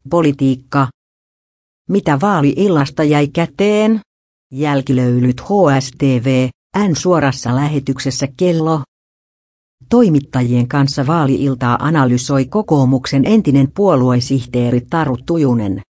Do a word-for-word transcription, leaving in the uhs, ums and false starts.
Politiikka. Mitä vaali-illasta jäi käteen? Jälkilöylyt H S T V, N suorassa lähetyksessä kello. Toimittajien kanssa vaali-iltaa analysoi kokoomuksen entinen puoluesihteeri Taru Tujunen.